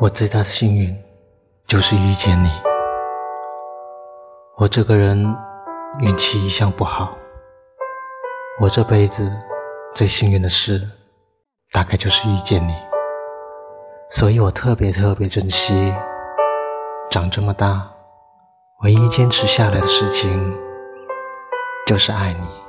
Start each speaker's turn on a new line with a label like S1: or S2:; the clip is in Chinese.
S1: 我最大的幸运就是遇见你。我这个人运气一向不好，我这辈子最幸运的事大概就是遇见你，所以我特别珍惜长这么大唯一坚持下来的事情，就是爱你。